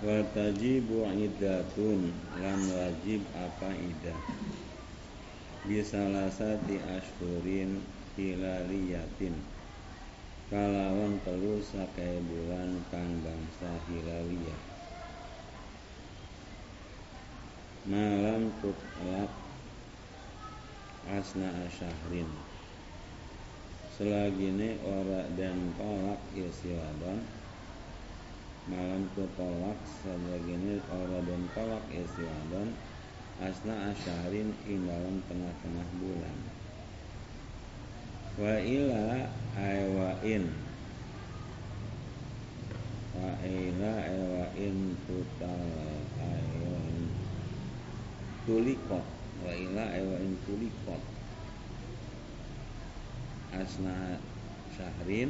Wa tajibu iddatun lan wajib apa iddah bisalasati ashhurin hilaliyatin kalawan telu sakai bulan kang bangsa hilaliyah malam tutlaq asna asyahrin selagine ora dan tolak isi wadon malam tutolak selagine ora dan tolak isi wadon asna asyahrin ing dalam tengah-tengah bulan wa ila aywain tutal aywain tulikot wa ila aywain tulikot asna syahrin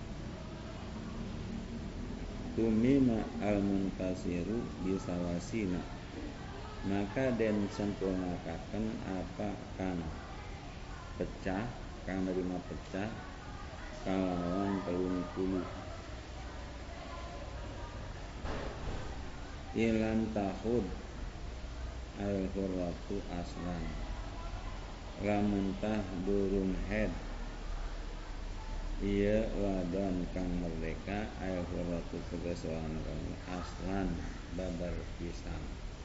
tumima al-muntasiru bisawasina maka den sempurnakaken apa kang pecah kang nerima pecah kalawan 30 ilam tahud al-hurratu aslan lamun tah durung head iya wadon kang merdeka al-hurratu tegas wadon aslan babar pisan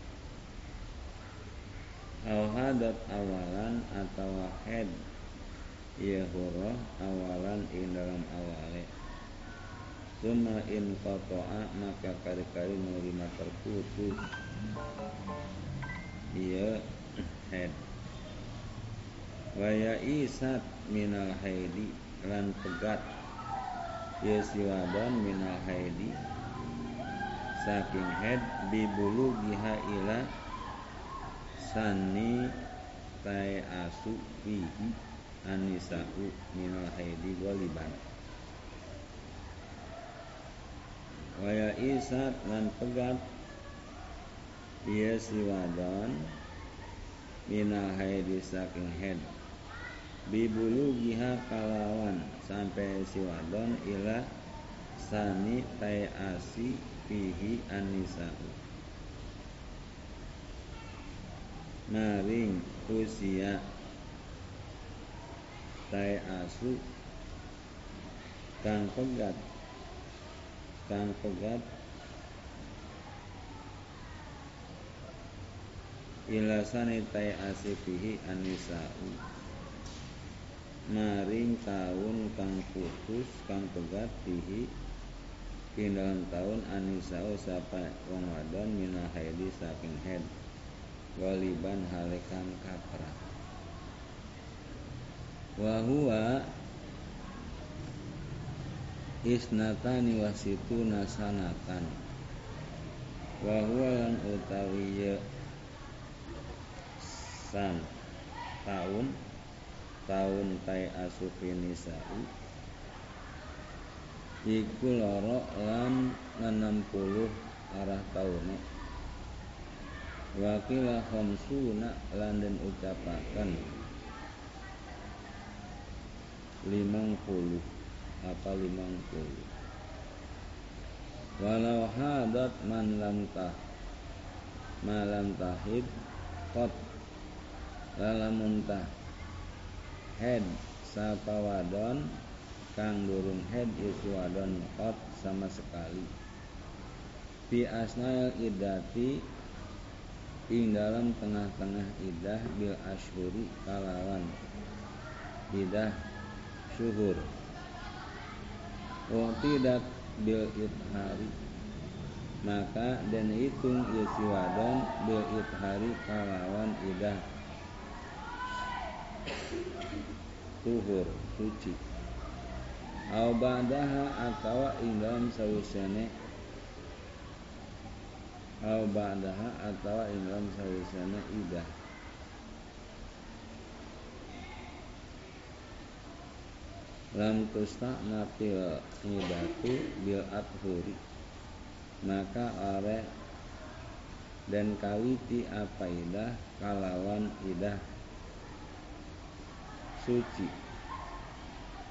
al-hadat awalan atau head iya hurrah awalan ing dalam awale summa in qata'a maka kari-kari menerima terputus iya head waya isat minal haidi lan pegat iya siwadon minal haidi saking head bibulu giha ila sani tai asu fihi anisa'u minal haidi goliban waya isat lan pegat iya siwadon minal haidi saking head bibulu giha kalawan sampai siwadon ila sani tai asi fihi anisa'u maring usia tai asu kang pegat ila sani tai asi fihi anisa'u maring taun kang putus kang pegat fihi ing dalam taun anisa'u sapa wong wadon minal haidi saking head waliban halekan kapra wa huwa isnatani wasituna sanatan wa huwa lan utawi san taun tai asufi nisa'u iku loro lan 60 arah taune wakila khamsuna lan den ucapaken 50 apa 50 walau hadat man lam tahid qat lalamun tah head sapa wadon kang durung head iku wadon qat sama sekali fi asnail iddati ing dalam tengah-tengah idah bil ashhuri kalawan idah syuhur wa tidak bil ithari maka dan hitung isi wadon bil ithari kalawan idah tuhur suci au ba'daha atawa ing dalam sawisane idah lam tusta'nafil idatu bil adhuri maka are dan kawiti apa idah kalawan idah suci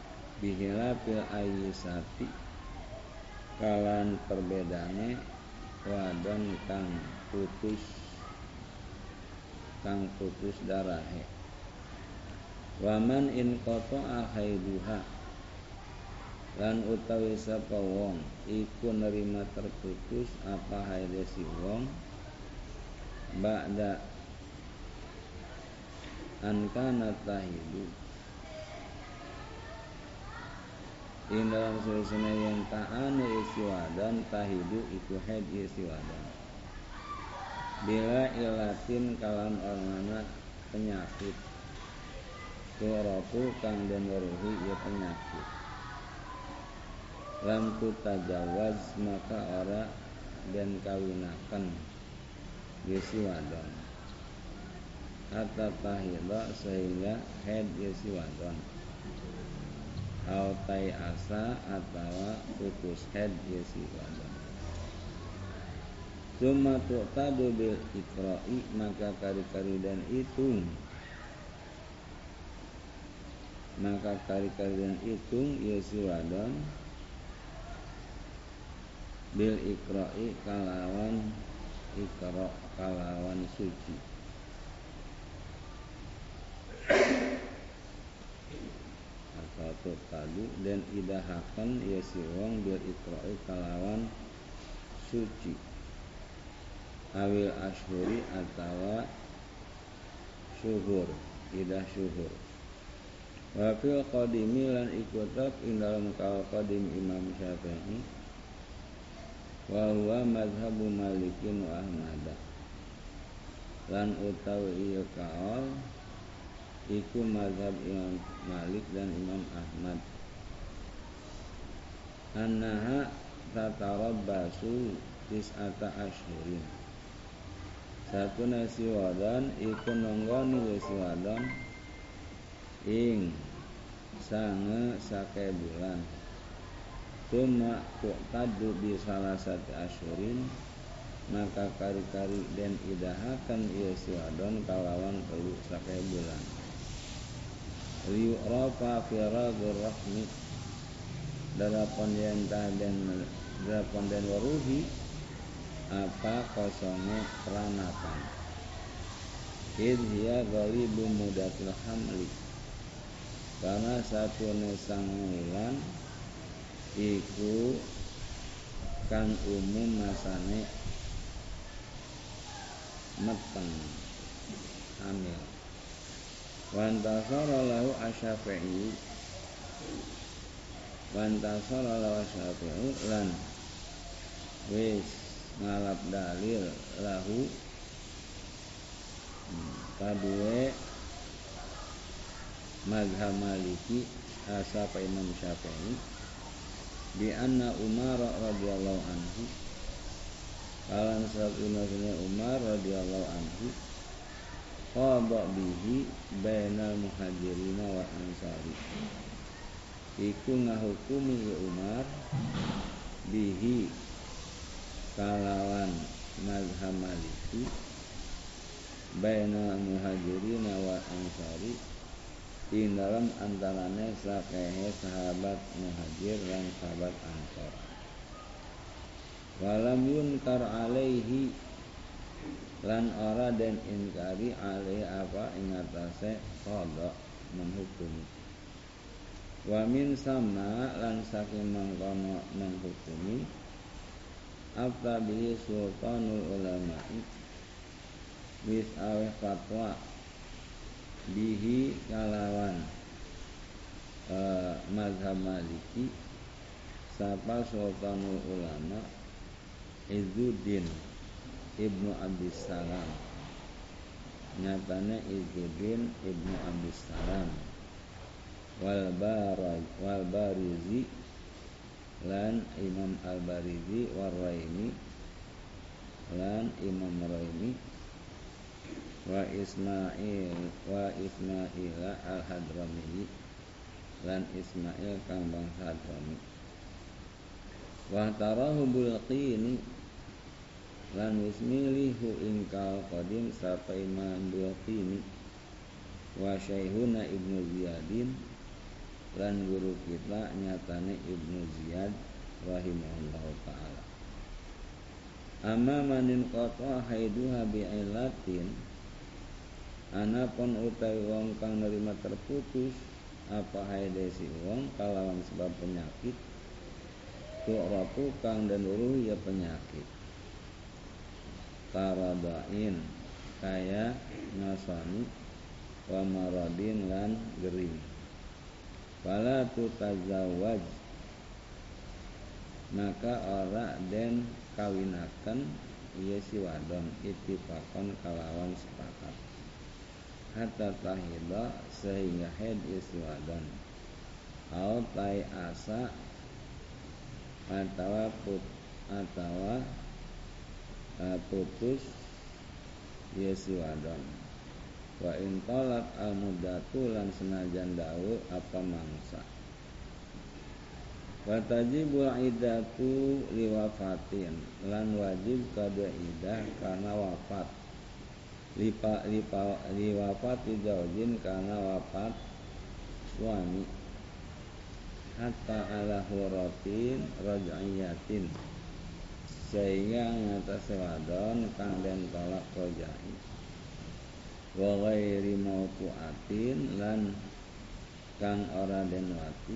bihilafil ayyisati kalan perbedane wadon kang putus darahe. Waman in qata'a haiduha, lan utawi sapa wong iku nerima terputus apa haide si wong ba'da an kana tahidu, ing dalam suasana yang ta'anu isi wadon tahidu iku haid isi wadon bila ilatin kalan ornana penyakit tu'rafu kang den weruhi ya penyakit lam tutajawaz maka ora den kawinaken isi wadon hatta tahida sehingga haid isi wadon autai asa atawa putus haid isi wadon. Summa tu'tadu bil ikra'i maka kari-kari dan hitung isi wadon bil ikra'i kalawan ikra kalawan suci atau tadu dan idahakan ya si wong bil ikra'i kalawan suci awil ashuri atawa syuhur idah syuhur. Wa fil qadimi lan ikutab ing dalam kal qadim Imam Syafi'i wa huwa mazhabu Malikin wa Ahmad lan utawi ieu kaul iku mazhab Imam Malik dan Imam Ahmad annaha tatarabbasu tis'ata asyhurin satu nasi wadon iku nonggoni nasi wadon ing sange sake bulan cuma tu'tadu bi salasati asyhurin maka kari-kari den idahakan ieu si wadon kalawan telu sake bulan liyurafa firadur rahmi darapon den waruhi apa kosonge peranakan id hiya ghalibu mudatil hamli karena satu nesang wulan iku kang umum masane meteng hamil. Wantasara lahu asyafi'i lan wis ngalap dalil lahu kadue mazhab Maliki asapa Imam Syafi'i bi anna Umar radhiyallahu anhu kalan sabuna Umar radhiyallahu anhu qada bihi bainal muhajirin wa ansari iku ngahukumi Umar bihi kalawan mazhab Maliki bainal muhajirin wa ansari ing dalam antarane sakehe sahabat muhajir dan sahabat ansor walam yunkar alaihi lan ora den inkari alaihi apa ing atase qada menghukumi wa min sama lan saking mangkono menghukumi afta bihi sultanul ulama'i wis aweh fatwa bihi kalawan mazhab Maliki sapa sultanul ulama Izzuddin Ibnu Abdissalam nyatane Izzuddin Ibnu Abdissalam wal Barizi lan Imam Al-Barizi war Raimi lan Imam Raimi wa Ismail Al-Hadrami lan Ismail kang bangsa Hadrami wa tarahu Bulqini lan wismilihu ingkal qadim sapa Imam Bulqini wa Syekhuna Ibnu Ziyadin lan guru kita nyatane Ibnu Ziyad rahimahullahu ta'ala Amma manin qata haiduha bi'illatin, anapun utawi wong kang nerima terputus apa haide si wong kalawan sebab penyakit, tu'rafu kang den uruh ya penyakit, karadain kaya ngasani, wa maradin lan gering, fala tutazawwaj maka ora den kawinaken ieu si wadon ittifaqan kalawan sepakat, hatta tahida sehingga haid ieu si wadon, au tai asa atawa putus ieu si wadon, wa in talak al muddatu lan senajan dawu apa mangsa, wa tajibul iddatu liwafatin lan wajib kada iddah karena wafat, liwafati zaujin karena wafat suami, hatta ala huratin raj'iyatin sehingga ngatasi wadon kang den tolak rojai, wa ghairi mautuatin lan kang ora den wati,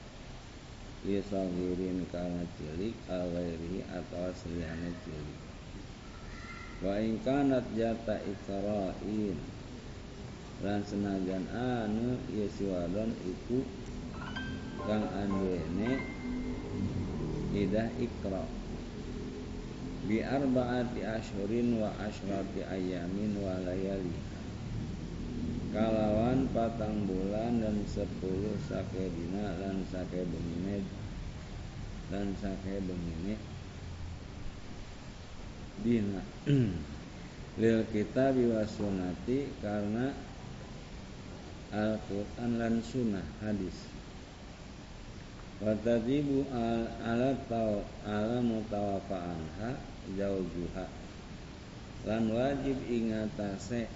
isagirin kana cilik al ghairi atau seliyane cilik, wa in kanat jata ikra'in lan senajan anu ieu si wadon iku kang anduene idah ikra bi arba'ati asyhurin wa asyrati ayamin wa layaliha, kalawan 4 bulan dan 10 sake dina lan sake bengine dina lil kitabi was sunnati karena Al-Quran lan sunnah hadis, wa tajibu ala mutawafa anha zaujuha lan wajib ingatase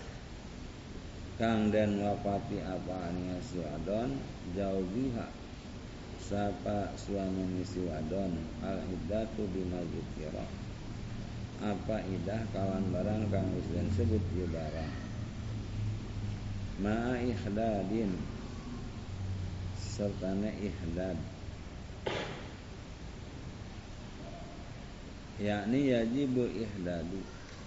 kang den wafati apane si wadon, zaujuha sapa suami si wadon, al iddatu bima dzikra apa idah kawan barang kang wis den sebut ieu barang, ma ihdadin sertane ihdad, yakni yajibul ihdadu,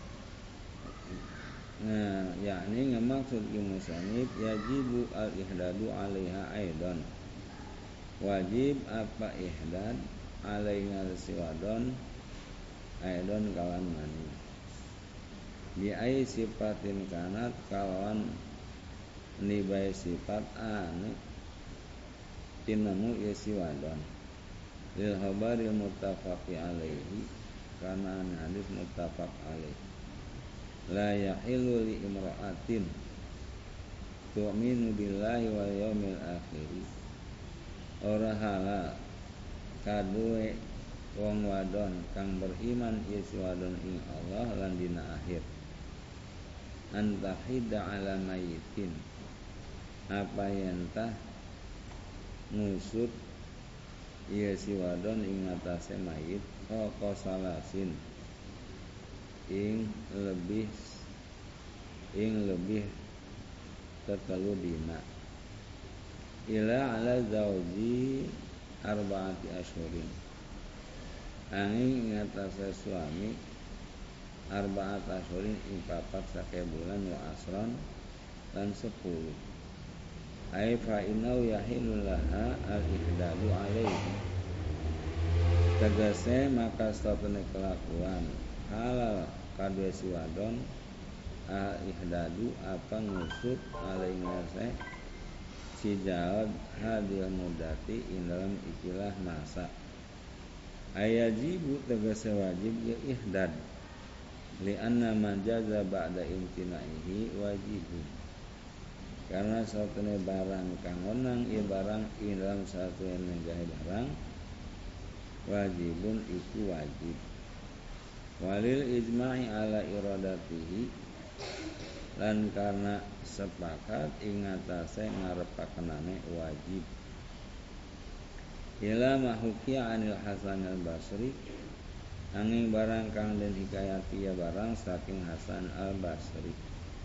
yakni ngemaksud musannif yajibu al ihdadu alaiha aidan, wajib apa ihdad alaiha si wadon aidan kawan mani, bi ai sifatin kanat kawan nibai sifat anu tinemu ieu si wadon, lil khabaril muttafaqi alaihi kana hadis muttafaq alaihi, la yahilu li imra'atin tu'minu billahi wal yaumil akhir, ora halal kaduwe wong wadon kang beriman ieu si wadon ing Allah lan dina akhir, antahida ala mayitin apa yentah ngusut ieu si wadon ing atase mayit, salasin ing lebih tetelu dina, ila ala zauji arba'ati asyhurin angin ing atase suami arba'at asyhurin ing 4 sake bulan wa asron lan 10, ai fa inau yahilu laha al ihdadu alaihi tegese maka satune kelakuan halal kadue si wadon al ihdadu apa ngusut alaihi ngase si jawab hadil mudati ing dalam ikilah masa, ayajibu tegese wajib ya ihdad li anna man jaza ba'da imtinaihi wajibun, karena satune barang kang onang ieu barang ing dalam satune negahe barang wajibun iku wajib, walil ijma'i ala iradatihi lan karena sepakat ing atase ngarepakenane wajib, ila mahukiya anil Hasan al Basri angin barang kang den hikayati ya barang saking Hasan al-Basri.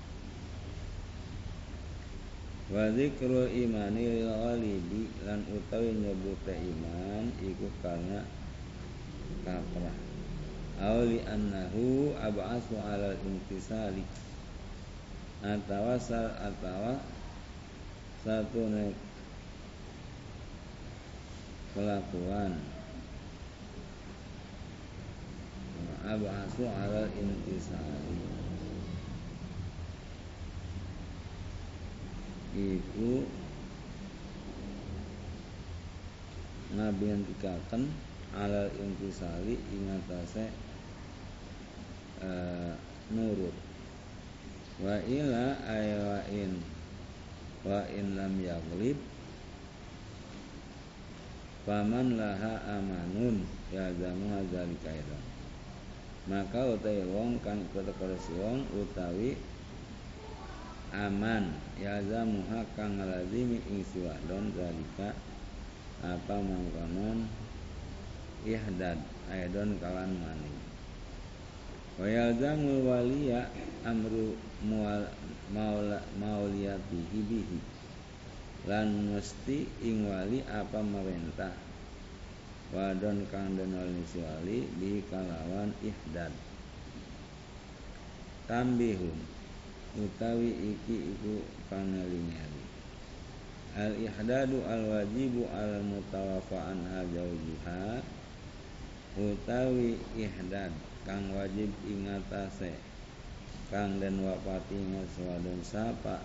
Wa dzikrul imani lil ghalibi lan utawi nyebute iman iku karena kaprah. Auli annahu ab'asu 'alal intisali atawa satu kelakuan ab'asu 'alal intisali iku ngabentikaken alal intisali ing atase nurut wa ila wa in lam yaglib faman laha amanun ya zamu hadzalika aidan. Maka utawi wong kang kota-kota wong utawi aman ya zamuha kang lazimi ing siwadon zalika apa mangkonon ihdad aidon kalan maning. Wa yalzamul waliya amru mauliyatihi bihi lan mesti ing wali apa merintah wadon kang den wali bi kalawan ihdad. Tambihun utawi iki iku pangelingali al ihdadu al wajibu al mutawaffa anha zawjiha utawi ihdad kang wajib ing atase kang den wafati ngaswadon sapa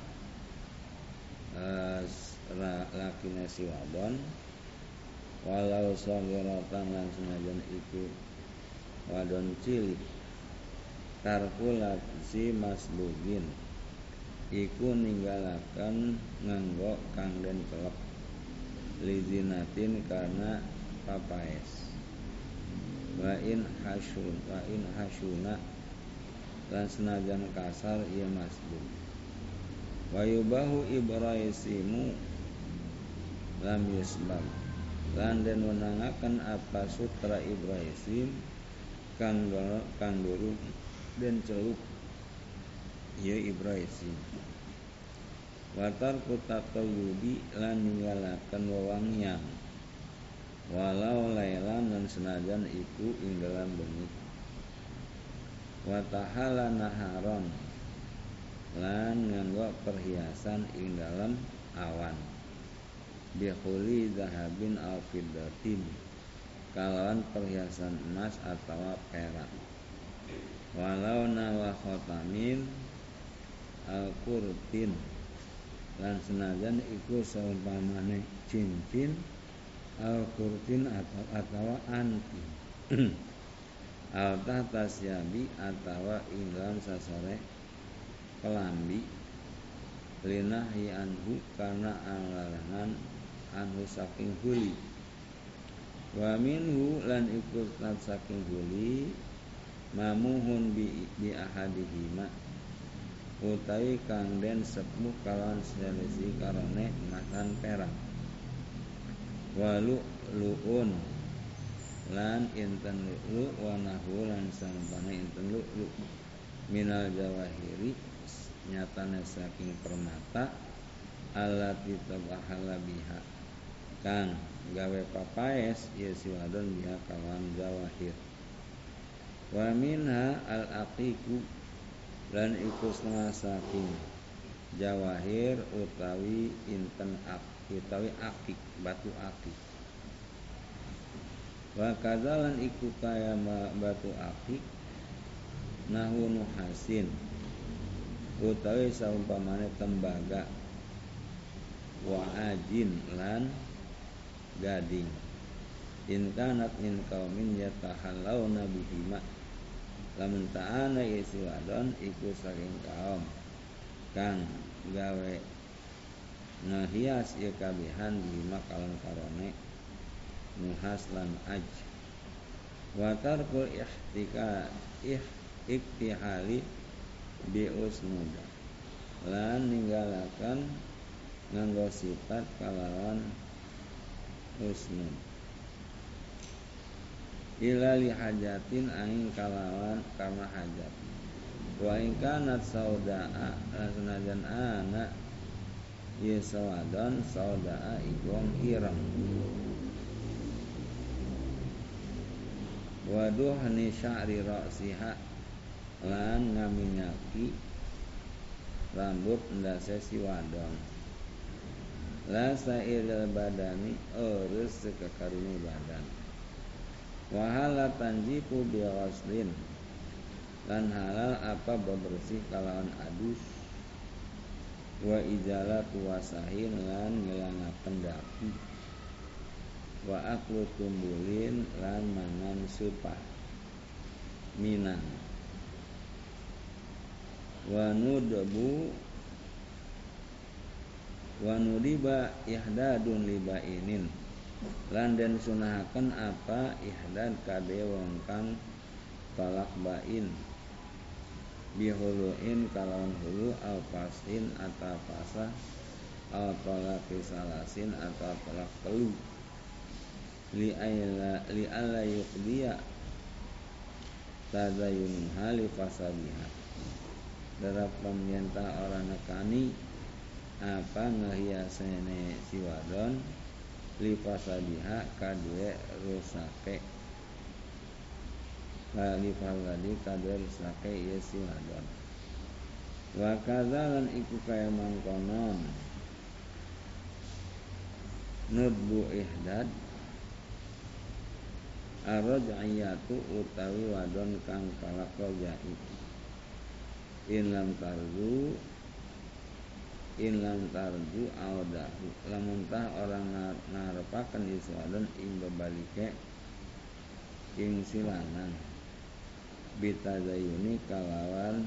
lakine si wadon walau sagiratan lan senajan iku wadon cilik tarkulat si masbugin iku ninggalaken nganggo kang den kelep lizinatin karena papaes wa in hasuna lan senajan kasar ieu masbug wa yubahu ibraisimu lam yusbab lan den wenangaken apa sutra ibraisim kang durung den celup ieu ibraisim watar kutatayubi lan ninggalaken wewangian walau lailan lan senajan iku ing dalam bengi wa tahala naharon lan nganggo perhiasan ing dalam awan bihuli zahabin aw fiddatin kalawan perhiasan emas atau perak walau nawa khotamin al kurtin lan senajan iku saumpamane cincin al kurtin atau anti al tahtasyabi atau ing dalam sasare kelambi linahi anhu karena larangan anhu saking huli wa minhu lan ikut saking huli mamuhun bi ahadihima utawi kang den sepuh kalawan sejelesi karone masan perak walu luun lan inten lu wa nahu lan sampane inten lu minal jawahiri nyatane saking permata allati tabahala biha kang gawe papaes ya siwadon biha kawan jawahir wa minha al aqiqu lan iku setengah saking jawahir utawi inten utawi akik batu akik wa kadzalan iku kaya batu akik nahu nuhasin utawi saumpamane tembaga wa ajin lan gading in kanat min qaumin yatahallawna bihima lamun ta'ana isi wadon iku saking kaum kang gawe ngehias ieu kabihan bihima kalon karone nuhas lan aj wa tarkul iktihali bi usnuda lan ninggalakan nganggo sifat kalawan usnud ila li hajatin angin kalawan karena hajat. Wa in kanat saudaa senajan ana ye sawadon saudaa iku ireng. Waduh ni sya'ri ra'siha lan ngaminyaki rambut ndase si wadon. La sa'iril badani eures sekakaruni badan. Wa hala tanjiku bi ghaslin lan halal apa bebersih kalawan adus. Wa izalatu wasahin lan ngilangaken daki. Wa aklu tumbulin lan mangan supah minang. Wa nudiba ihdadun libainin lan den sunahaken apa ihdad kade wong kang talak bain bihuluin kalawan hulu al pasin atau pasah al talak salasin atau talak telu li alla yuqdiya tazayun hali fasabiha darab pamyenta orang nekani apa ngehiasene si wadon li fasabiha kadue rusake li fasadi kadue rusake ya si wadon. Wa kadzalan iku kaya mangkonon nudbu ihdad arraj'iyatu utawi wadon kang kalak rojai in lam tarju audahu lamun tah orang ngarepaken iswadon ing bebalike ing silanang bitazayuni kalawan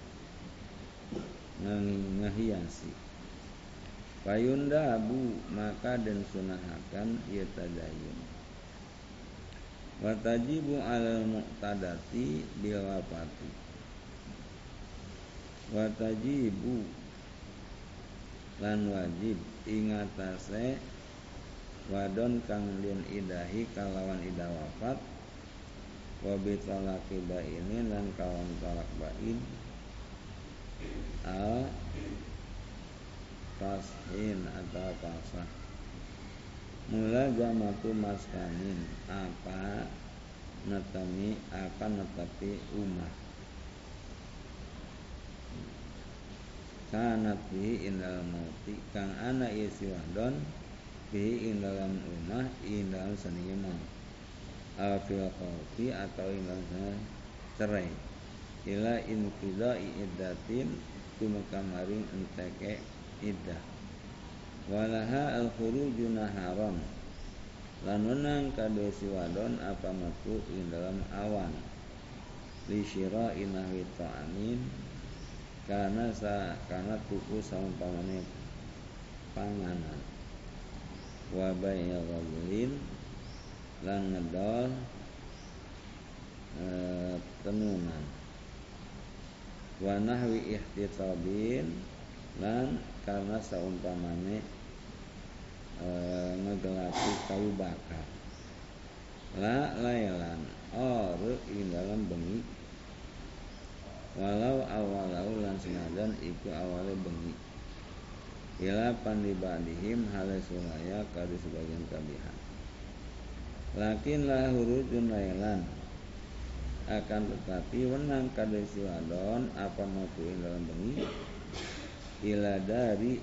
ngehiasi payundabu maka den sunahakan ieu tazayun. Wa tajibu alal muqtadati bil wafati. Wa tajibu lan wajib ingatase wadon kang den idahi kalawan idah wafat wa bi talaqi bainin lan kalawan talak bain al tashin atau pasah mula jamatu maskanin apa netapi umah kanat bihi indal mauti kang ana isi wadon bihi indalam umah indalam seni maut al-fil qawti atau indalam cerai ila inqidai iddatin tumekamaring enteke iddah walaha al-khuruju naharon lan wenang kadue si wadon apa metu ing dalam awan li syira'i nahwi ta'amin karena tuku saumpamane panganan wa bai'a ghadlin lan ngedol tenunan wa nahwi ihtitabin lan karena saumpamane ngegelapi kayu bakar la lailan ing dalam bengi walau awalau lan senajan iku awale bengi ila pandibadihim halesulaya kadi sebagian kabihan lakin la hurujun lailan akan tetapi wenang kadi si wadon apa metu ing dalam bengi ila dari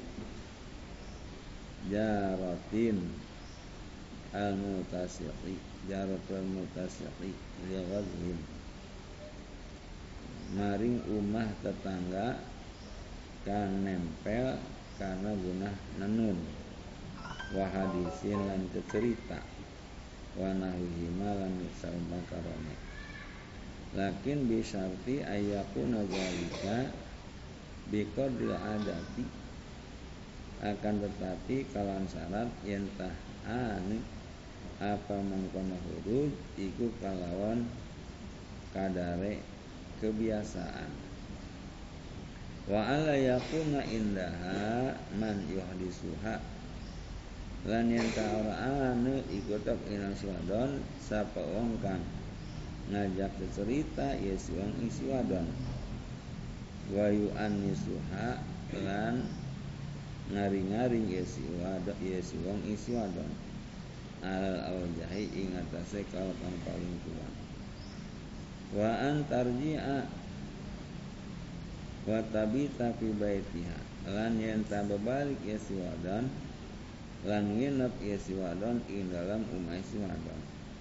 jaratin al-mutasiqi jaratul mutasiqi li ghazlin maring umah tetangga kan nempel karena guna nenun wa hadisin lan cerita wa nahwihima lan saumakarone lakin bi syarti ayyakuna zalika biqadril adati akan tetapi kalan syarat yentah anu apa mangkono huruj iku kalawan kadare kebiasaan wa ala yakuna indaha man yuhdisuha lan yen ta ora anu ikutok inang si wadon sapa wong kang ngajak cerita ya si wong isi wadon wa yu'annisuha lan ngaring-ngaring ya si wong isi wadon alal awjahi ing atase kaul kang paling kuat wa antarji'a wa tabita fi baitiha lan yen ta balik ya si wadon lan nginep ya si wadon ing dalam umah si wadon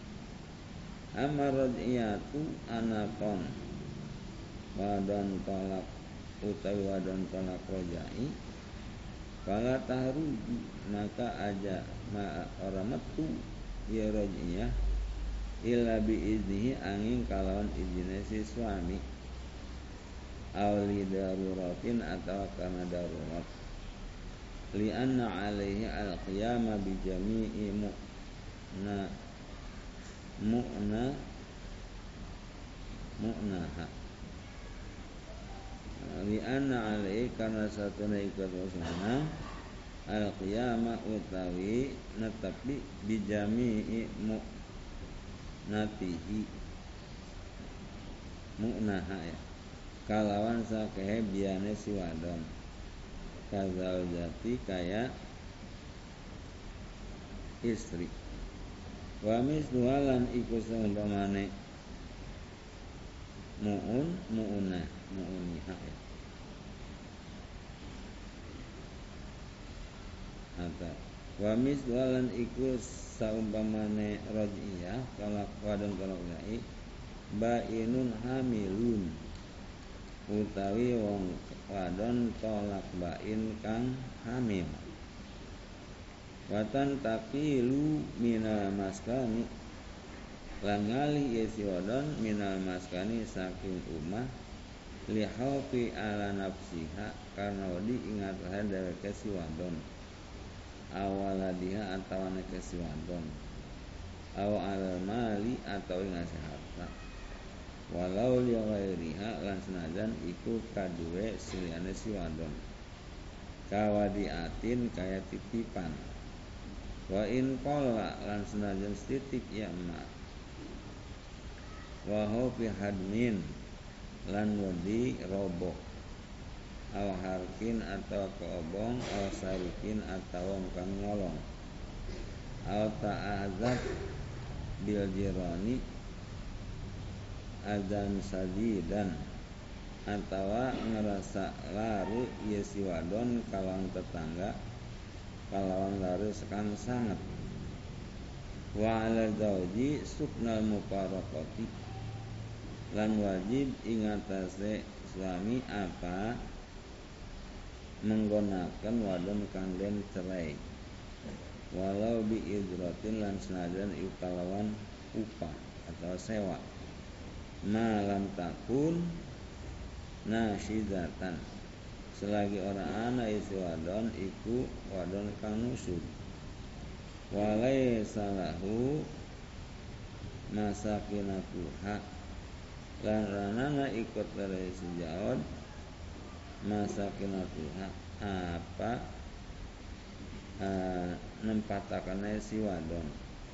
amarradiyatu anakon wadon tolak utawi wadon tolak rojai fala tahruju maka aja orang metu ya rojiyah illa bi iznihi angin kalawan izine si suami awli daruratin atau karena darurat li anna alaihi al-qiyama bi jami'i mu'naha li anna alaihi karena satuna ikut wasana al-qiyama utawi netepi bi jami'i mu'natihi mu'naha ya kalawan sakehe biane si wadon kazal jati kaya istri wa misluhalan iku seumpamane mu'uniha ya atau wa misluhalan iku saumpamane rajiyah kalak wadon kalak gai bainun hamilun utawi wong wadon tolak bain kang hamil watan taqilu minal maskani lan ngalih yesi wadon minal maskani saking umah lihaufi ala nafsiha karena wedi ingat dheweke si wadon awaladiha atawane si wadon aw al mali atau ngasih harta walau li ghairiha lan senajan iku kaduwe siliyane si wadon kawadiatin kaya titipan wa in qalla lan senajan setitik ya emak wa hu fi hadmin lan wedi roboh aw harkin atau keobong aw sarikin atau kang nyolong aw ta'azab bil jirani adzan sadidan atawa ngerasa laru ieu si wadon kalawan tetangga kalawan laru sekan sangat wa ala zauji suknal mufaraqati lan wajib ingatase suami apa menggunakan wadon kang den cerai walau bi idratin lan senajan iku kalawan upah atau sewa malam takun nasyidatan selagi orang anak isi wadon iku wadon kang nusuk walai salahu masakinatuha lan ranana ikut dari sejaon masakinatuha apa nempatakannya si wadon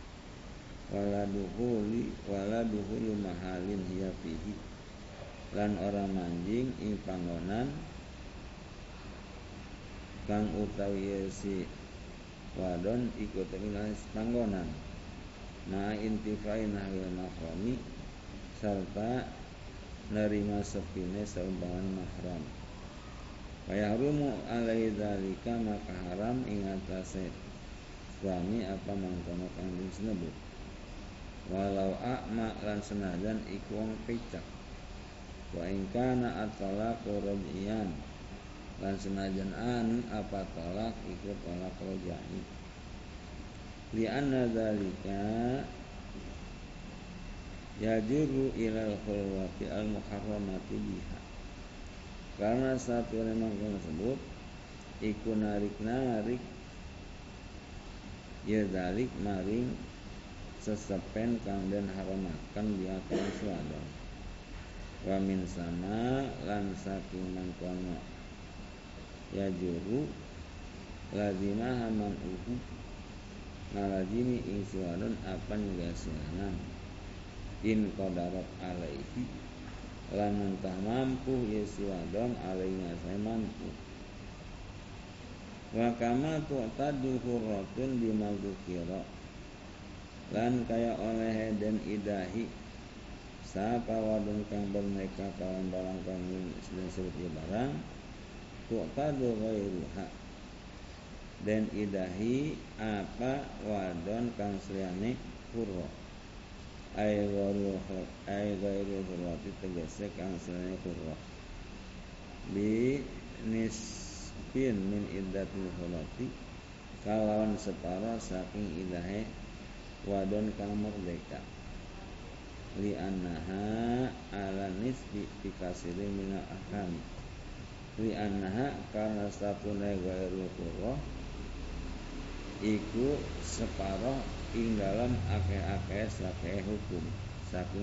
waladuhulu mahalin hiya fihi lan orang manjing ing panggonan kang utawi si wadon ikut dengan panggonan ma intifai nahwil mahrami serta nerima sepine seumpama mahram wa yahrumu alai dzalika maka haram ing atase suami apa mangkono kang disebut walau a'ma lan senajan iku wong picak wa in kana at-talaqu raj'iyan lan senajan anu apa talak iku talak raj'i li anna dzalika yajuru ilal khulwati al-muharramati biha karena satu memang tersebut iku narik ya dalik maring sesepen kang den haramaken dia kang suwadon wa min sama lan saking mangkono ya juru lazimah man ngalajimi ing si wadon apan gasianan in qadarat alaihi lamun tah mampu ya si wadon alaihi saya mampu wa kama tu'tadu hurratun bima dzukira lan kaya oleh dan idahi sapa wadon kang berneka kawan barang kang disebut barang tu'tadu ghairuha dan idahi apa wadon kang seliyane hurra ay ghairu hurrati tegese kang seliyane hurra bi nisbin min iddatil hurrati kalawan separa saking idahe wadon kang merdeka li annaha ala nisbi bikasiri minal ahkami li annaha karena satune ghairu hurra iku separoh ing dalam akeh-akeh sakeh hukum saking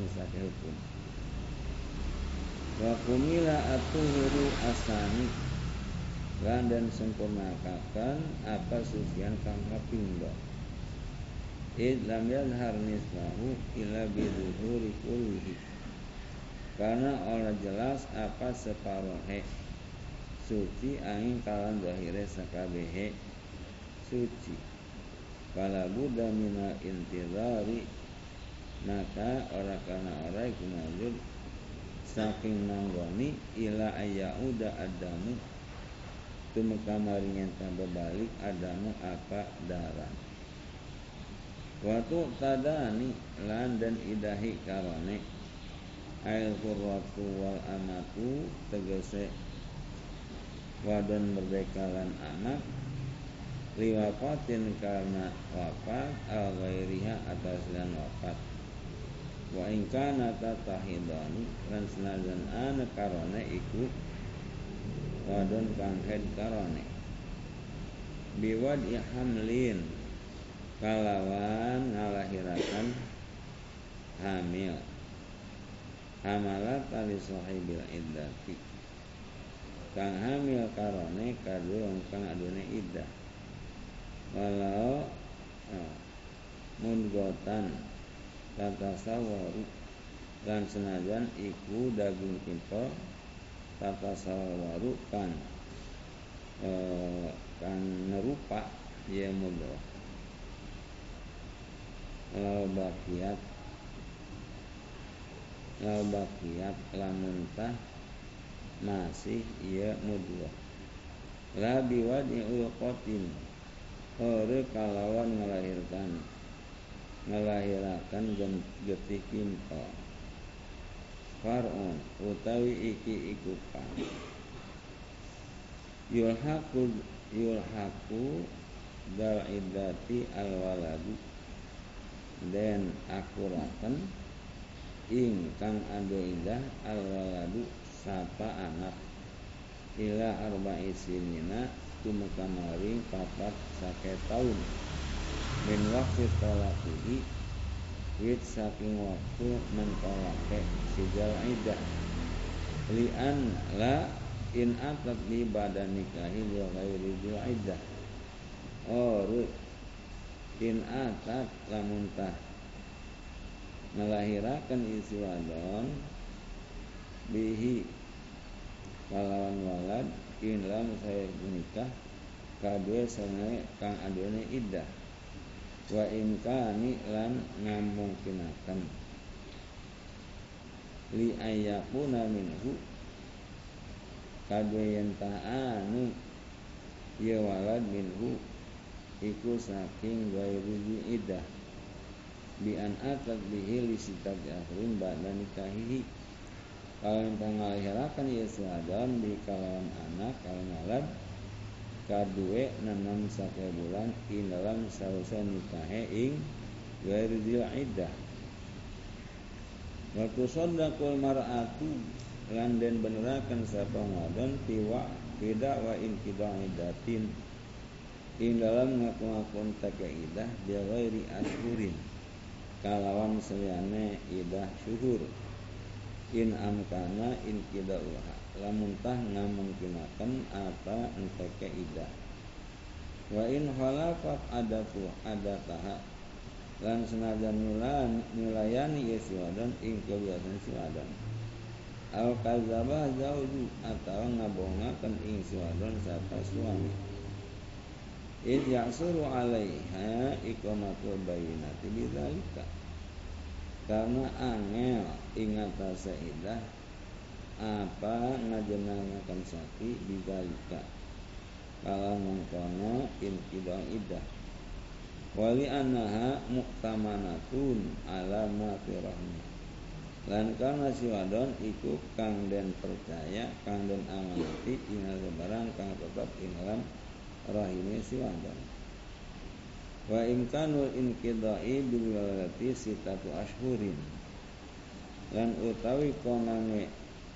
wa kumila atuhuru asani lan dan sempurnakakan apa sucian kang kapindho id lam yadhar nisbahu illa biduhuri kullihi karena orang jelas apa separohe suci angin kalan zahire sakabehe suci fala budda minal intizari maka ora kana ora iku wajib saking manggoni ila ayyauda adamu tumeka maringan balik adamu apa darah watu tadani lan dan idahi karone ail qurratu wal amatu tegese wadon merdeka lan anak liwafatin karena wafat al ghairiha atas lan wafat wa in kana tatahidani lan senajan ana karone iku wadon kang head karone biwad hamlin kalawan ngalahirakan hamil hamalat ali sahibil iddati kang hamil karone kadung kang adune iddah walau mundgotan tatasawaru dan senajan iku daging timpel tatasawaru kan nerupa ya mudghah lau bakiyat lamun tah masih ya mudghah la biwadi ulqatin ore kalawan ngelahirakan getih kimpel far'un utawi iki iku pang yulhaku dal iddati al waladu den akuraken ing kang ado indah al waladu sapa anak ila arba'i sinina tumeka maring papat sake taun min waqti talaqihi wit saking waktu mentolake sijal iddah li'an la in atat li badan nikahi li ghairi dzil iddah in atat lamun tah ngelahirakan isi wadon bihi kalawan walad in lam saya menikah kadue sange kang adone iddah wa in kani lan ngamungkinaken li ayyakuna minhu kadue yen ta'anu ya walad minhu iku saking ghairi iddah bi an atat bihi li sitati akhrin ba'da nikahihi kalau pangalihirakan Yesus Adam di kalawan anak kalawan walad kadue nanam sake bulan in dalam sausa nikahe ing ghairi dzil iddah wa tusaddaqul mar'atu lan den beneraken sapa wadon tidak wa in kidah iddatin ing dalam ngaku-ngakun take iddah bi ghairi ashurin kalawan seliyane iddah syuhur in amkana in kidauha lamun tah ngamungkinaken apa enteke iddah Wa in khalafat adataha lan senajan nyulayani ieu si wadon ing kebiasaan si wadon. Al kadzaba zauju atawa ngabohongaken ing si wadon sarta suami. Id ya'suru 'alaiha iqamatul bayyinati bidzalika. Karena angel ing atase idah apa ngajenengaken sakti bidzalika. Kala mengkono inqidah idah. Wali annaha mu'tamanatun ala ma fi rahmi. Lan karena si wadon iku kang den percaya, kang den amanati ing barang kang tetep ing dalam rahime si wadon. Wa imkanul inqidai bil waladati sitatu ashhurin. Lan utawi konange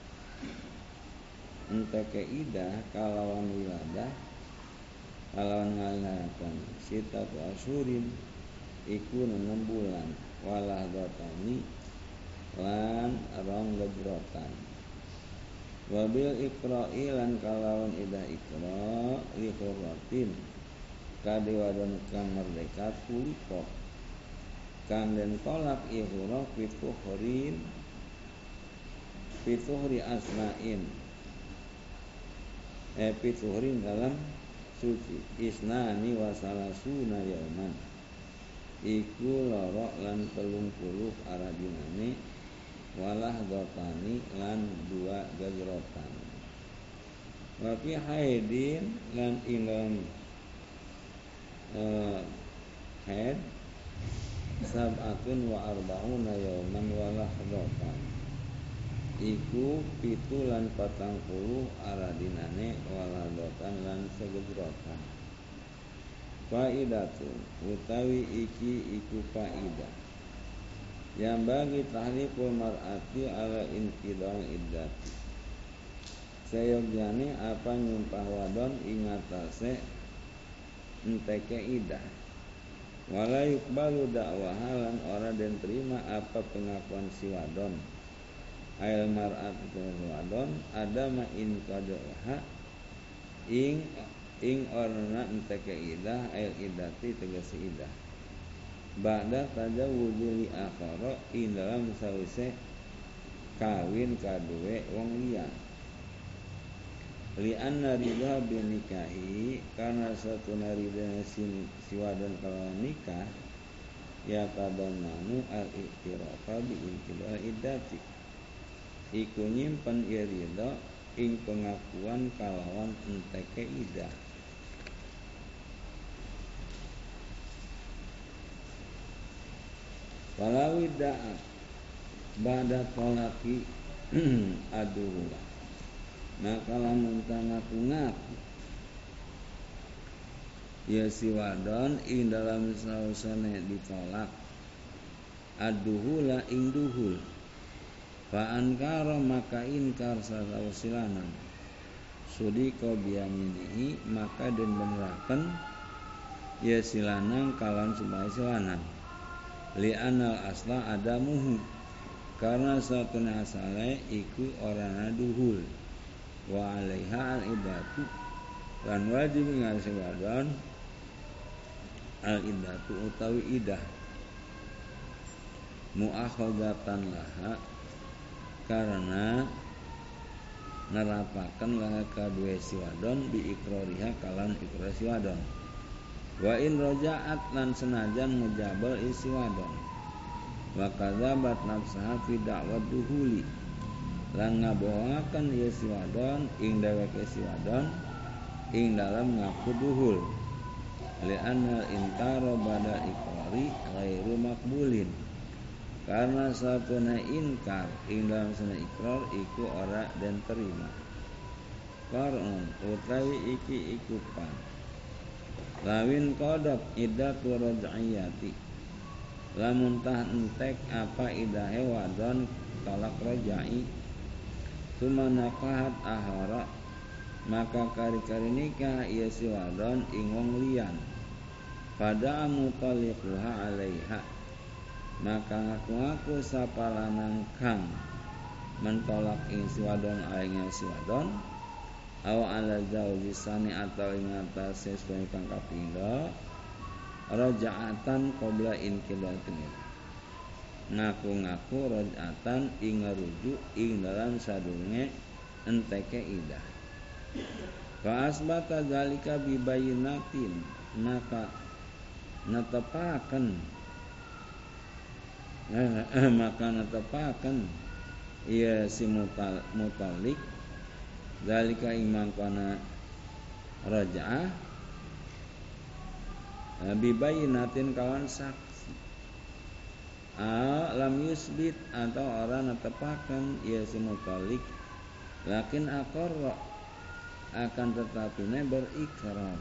enteke idah kalawan wiladah kalawan ngalahaken sitatu ashhurin iku 6 bulan walah datani lan rong gejrotan. Wabil ikra'i lan kalawan idah ikra li hurratin kadi wadon kang merdeka tuliko kang den tolak ihura pituhri asnain pituhrin dalam suci isnani wasalasuna yauman iku loro lan 30 aradinane walah dotani lan 2 gajrotan. Wa fi haidin lan ilam haid sab'atun wa arba'una yauman walah dotan iku 7 lan 40 aradinane walah dotan lan segejrotan. Faidatun utawi iki iku faidah yang bagi tahliful mar'ati ala inqidal iddati. Sayogyane apa nyumpah wadon ing atase enteke idah. Wala yuqbalu da'waha lan ora den terima apa pengakuan si wadon. Ail mar'ati wadon adama in qadaha ing orna enteke idah ail iddati tegese idah. Ba'da tajawuzi li akhara ing dalam sawise kawin kaduwe wong liya. Li anna ridha bin nikahi karena satu narida si wadon kalawan nikah ya tadamanu al-iqtirafa bi inqidal iddati. Iku nyimpen ridha ing pengakuan kalawan enteke idah. Walawi da'at ba'da tolaki aduh maka lamun ngaku-ngaku ya si wadon ing dalam sausane ditolak aduhula ing duhul fa ankara maka inkar sawasilanan sudika biyaminihi maka den beneraken ya silanang kalan supaya silanang li anal asla adamuhu karena satuna asale iku orana duhul wa alaiha al iddatu lan wajib ngarsi wadon al iddatu utawi idah muakhadatan laha karena nerapaken laha kadue si wadon bi ikrariha kalan ikrar si wadon. Wa in raja'at lan senajan ngejabal isi wadon wa kadzabat nafsaha fi da'wat duhuli lan ngabohongaken ieu si wadon ing dheweke si wadon ing dalam ngaku duhul li anna inkara bada ikrari ghairu maqbulin karena satuna inkar ing dalam sana ikrar iku ora den terima. Qarun utawi iki iku pan lawin kodok iddatu raj'iyati lamun tah entek apa idahe wadon talak rajai sumanakahat ahara maka kari-kari nikah ia si wadon ing wong liyan pada mutaliquha alaiha maka ngaku-ngaku sapa lanang kang mentolak ing si wadon aingnya si wadon aw ala zauji sani atau ing atase suami kang kapindho raja'atan qabla inqidatin ngaku-ngaku raja'atan ing ngarujuk ing dalam sadurunge enteke idah fa asbata zalika bi bayyinatin maka netepaken ia si mutalik zalika imang kana raja'ah bibayinatin kawan saksi lam yusbit atau orang netepakan ia si mutalik lakin aqarra akan tetapi berikrar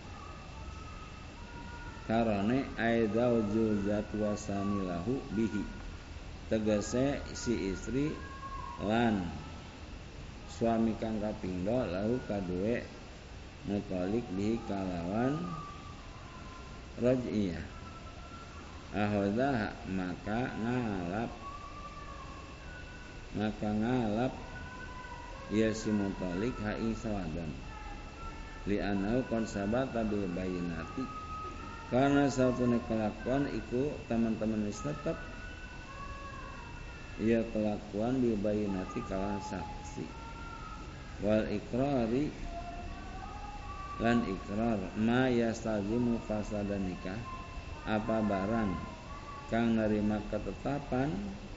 karane aidauju zatwasanilahu bihi tegese si istri lan suami kang kapindho lahu kaduwe mutalik bihi kalawan raj'iyah ahodah maka ngalap ya si mutalik ha'i sawadan li'anau konsabata bil bayinati karena satune kelakuan iku teman-teman wis tetep ya kelakuan bil bayinati kawan saksi wal ikrari lan ikrar ma yastazimu fasadan nikah apa barang kang nerima ketetapan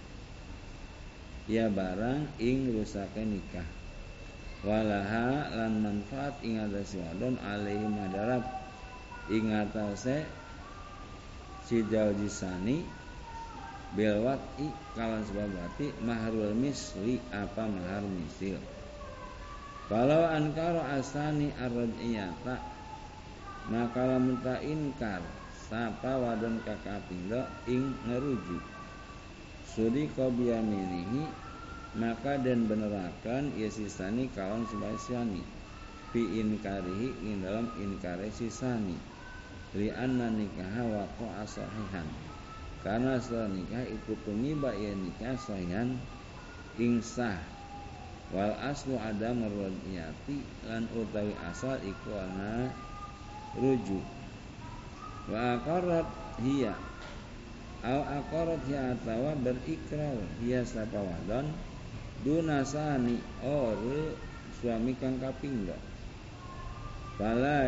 ya barang ing rusake nikah walaha lan manfaat ing atase wadon alaihi madarat ing atase si jaujisani bil wati kawan sebab wati mahrul misli apa mahar misil kalau ankara asani ar-raj'iyata maka lamun ta inkar sapa wadon kakapindho ing ngerujuk sudika biyaminihi maka den benerakan ya sisani kawan sebasyani fi inkarihi ing dalam inkare sisani li anna nikaha waqa'a sahihan karena setelah nikah ikut tumiba ya nikah sahihan ing sah wal aslu adam ar-raj'iyati lan utawi asal iku ana rujuk wa aqarrat hiya au aqarrat hiya atawa berikrar hiya sapa wadon dunasani ore suami kang kapindho fala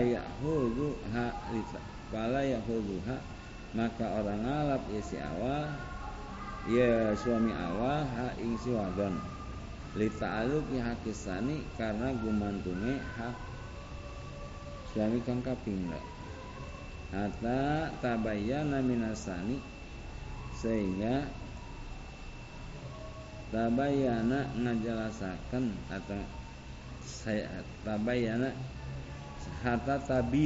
yahudzuha maka orang ngalap ya si awal ya suami awal ha ing si wadon li ta'alluqi hakisani karena gumantunge hak suami kang kapindho hatta tabayyana minasani sehingga tabayyana ngajelasaken atau tabayyana hatta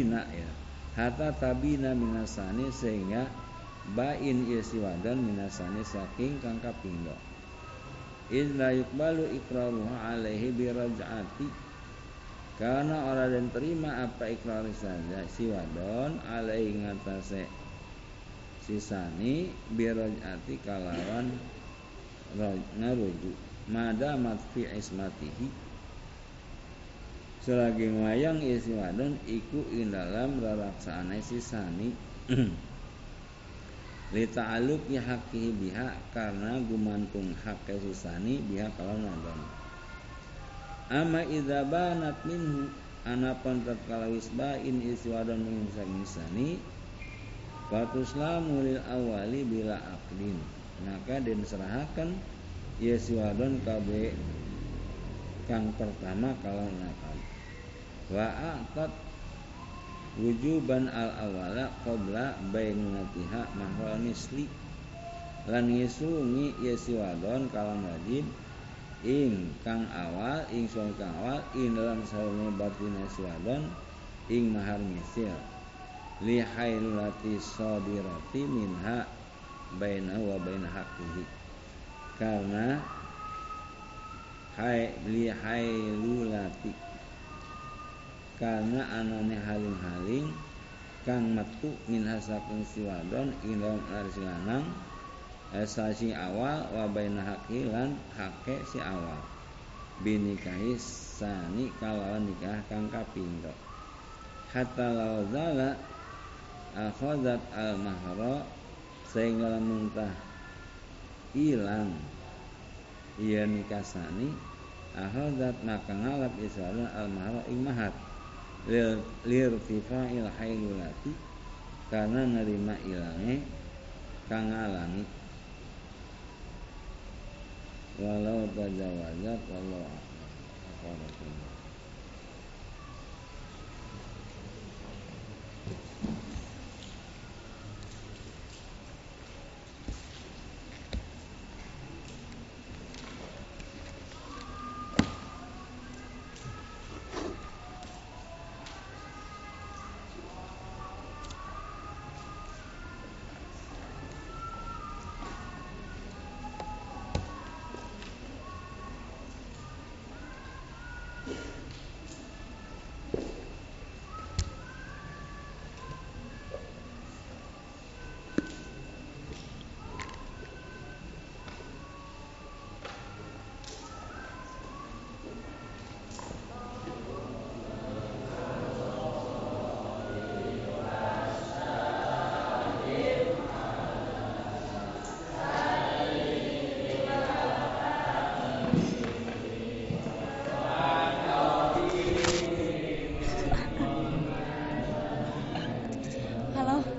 tabina minasani sehingga bain isi wadan minasani saking kang kapindho illa yuqbalu iqraruha alaihi biraj'ati karena orang dan terima apa ikrar saja si wadon alaihi ngatasé sisani biraj'ati kalawan ngarujuk madamat fi ismatihi selagi wayang isi wadon iku ing dalam raraksaane sisani li ta'alluqi haqqihi biha karena gumantung hak sisani biha kalawan wadon amma idza banat minhu anapan tatkala wis bain isi wadon min sani fatuslamu lil awali bila aqdin maka den serahaken ya si wadon kabe kang pertama kalawan akad wa aqad wujuban al awala qabla bainatiha mahwa misli lan ngisungi ya si wadon kalawan wajib ing kang awal ing suami kang awal ing dalam sarune batina si wadon ing mahar misil li hailati sadirati minha baina wa baina haqqihi karena li hailulati karena anane haling-haling kang metu min hasaking si wadon ing dalam laris lanang sasi awal wa baina haqqi lan haqqe si awal binikahi sani kalawan nikah kang kapindho hatta lauzala akhazat al mahra sehingga lamun tah ilang ieu nikah sani akhazat maka ngalap isana al mahra ing mahar lirtifa'il hailulati karena nerima ilange kang ngalangi walau tajawazat wallahu a'lam.